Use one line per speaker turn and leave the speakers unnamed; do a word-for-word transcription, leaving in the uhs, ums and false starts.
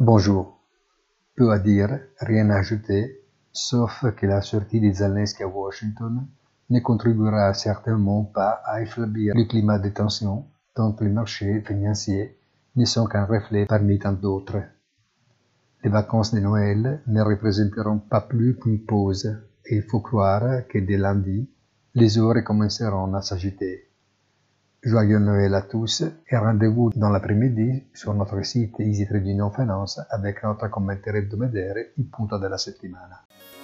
Bonjour. Peu à dire, rien à ajouter, sauf que la sortie de Zelensky à Washington ne contribuera certainement pas à affaiblir le climat de tension dont les marchés financiers ne sont qu'un reflet parmi tant d'autres. Les vacances de Noël ne représenteront pas plus qu'une pause et il faut croire que dès lundi, les heures commenceront à s'agiter. Joyeux Noël à tous et rendez-vous dans l'après-midi sur notre site Easy Trading Finance avec notre commentaire hebdomadaire Il punto della settimana.